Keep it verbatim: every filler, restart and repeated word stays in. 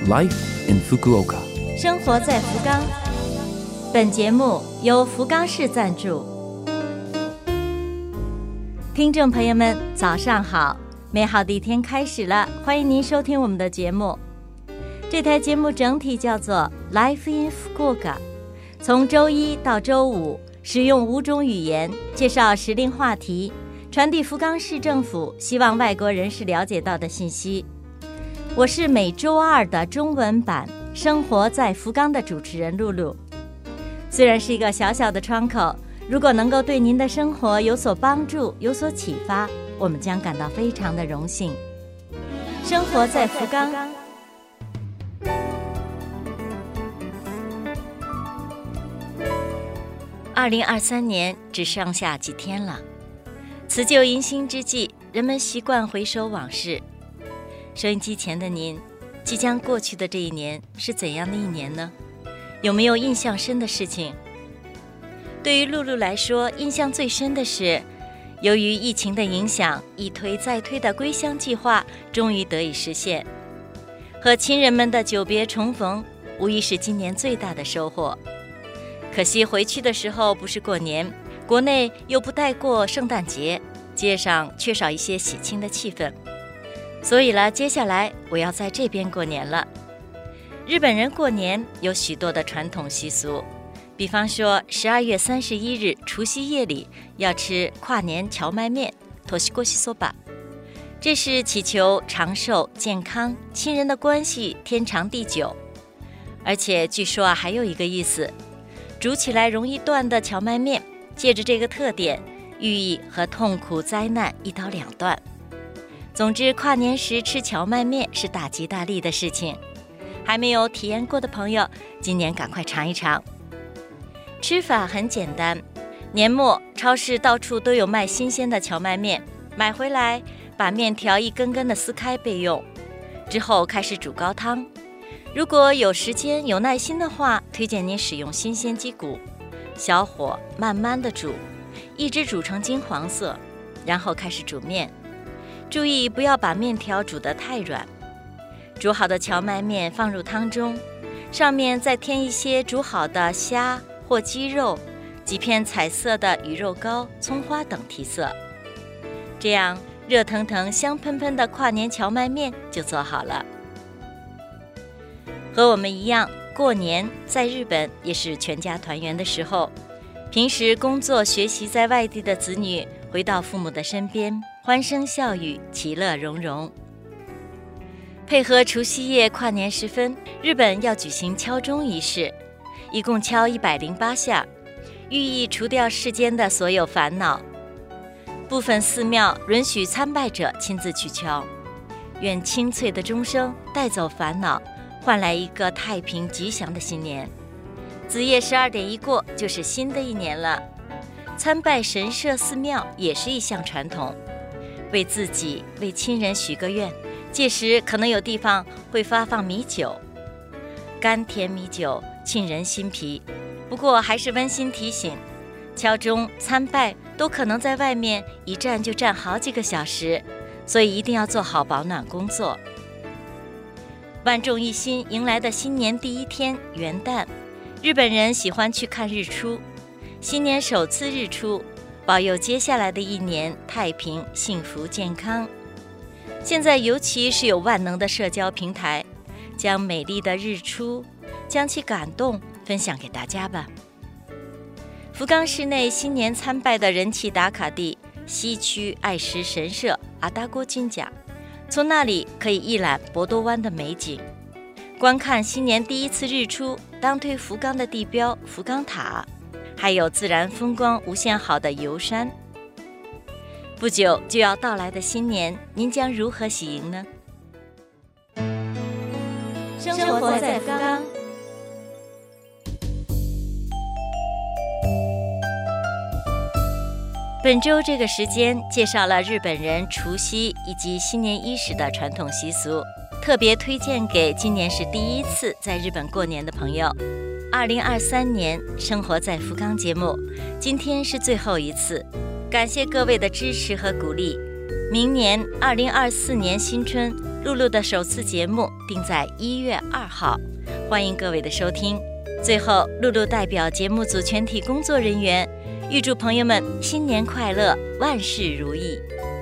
Life in Fukuoka， 生活在福冈。本节目由福冈市赞助。听众朋友们，早上好！美好的一天开始了，欢迎您收听我们的节目。这台节目整体叫做 Life in Fukuoka， 从周一到周五，使用五种语言介绍时令话题，传递福冈市政府希望外国人士了解到的信息。我是每周二的中文版《生活在福冈》的主持人露露。虽然是一个小小的窗口，如果能够对您的生活有所帮助、有所启发，我们将感到非常的荣幸。生活在福冈。二零二三年只剩下几天了，辞旧迎新之际，人们习惯回首往事。收音机前的您，即将过去的这一年是怎样的一年呢？有没有印象深的事情？对于露露来说，印象最深的是，由于疫情的影响，一推再推的归乡计划终于得以实现。和亲人们的久别重逢，无疑是今年最大的收获。可惜回去的时候不是过年，国内又不待过圣诞节，街上缺少一些喜庆的气氛。所以了，接下来我要在这边过年了。日本人过年有许多的传统习俗，比方说十二月三十一日除夕夜里要吃跨年荞麦面 Toshikoshi soba， 这是祈求长寿健康、亲人的关系天长地久。而且据说啊，还有一个意思，煮起来容易断的荞麦面，借着这个特点，寓意和痛苦灾难一刀两断。总之，跨年时吃荞麦面是大吉大利的事情。还没有体验过的朋友，今年赶快尝一尝。吃法很简单，年末超市到处都有卖新鲜的荞麦面，买回来把面条一根根的撕开备用，之后开始煮高汤。如果有时间有耐心的话，推荐您使用新鲜鸡骨，小火慢慢的煮，一直煮成金黄色，然后开始煮面。注意不要把面条煮得太软。煮好的荞麦面放入汤中，上面再添一些煮好的虾或鸡肉，几片彩色的鱼肉糕、葱花等提色。这样热腾腾香喷喷的跨年荞麦面就做好了。和我们一样，过年在日本也是全家团圆的时候。平时工作学习在外地的子女回到父母的身边，欢声笑语，其乐融融。配合除夕夜跨年时分，日本要举行敲钟仪式，一共敲一百零八下，寓意除掉世间的所有烦恼。部分寺庙允许参拜者亲自去敲，愿清脆的钟声带走烦恼，换来一个太平吉祥的新年。子夜十二点一过，就是新的一年了。参拜神社寺庙也是一项传统，为自己为亲人许个愿，届时可能有地方会发放米酒，甘甜米酒沁人心脾。不过还是温馨提醒，敲钟参拜都可能在外面一站就站好几个小时，所以一定要做好保暖工作。万众一心迎来的新年第一天元旦，日本人喜欢去看日出。新年首次日出，保佑接下来的一年太平、幸福、健康。现在尤其是有万能的社交平台，将美丽的日出，将其感动分享给大家吧。福冈市内新年参拜的人气打卡地西区爱石神社阿达郭金甲，从那里可以一览博多湾的美景，观看新年第一次日出，当推福冈的地标福冈塔，还有自然风光无限好的游山。不久就要到来的新年，您将如何喜迎呢？生活在福冈。本周这个时间介绍了日本人除夕以及新年伊始的传统习俗，特别推荐给今年是第一次在日本过年的朋友。二零二三年生活在福冈节目，今天是最后一次，感谢各位的支持和鼓励。明年二零二四年新春， 露露的首次节目定在一月二号，欢迎各位的收听。最后，露露代表节目组全体工作人员，预祝朋友们新年快乐，万事如意。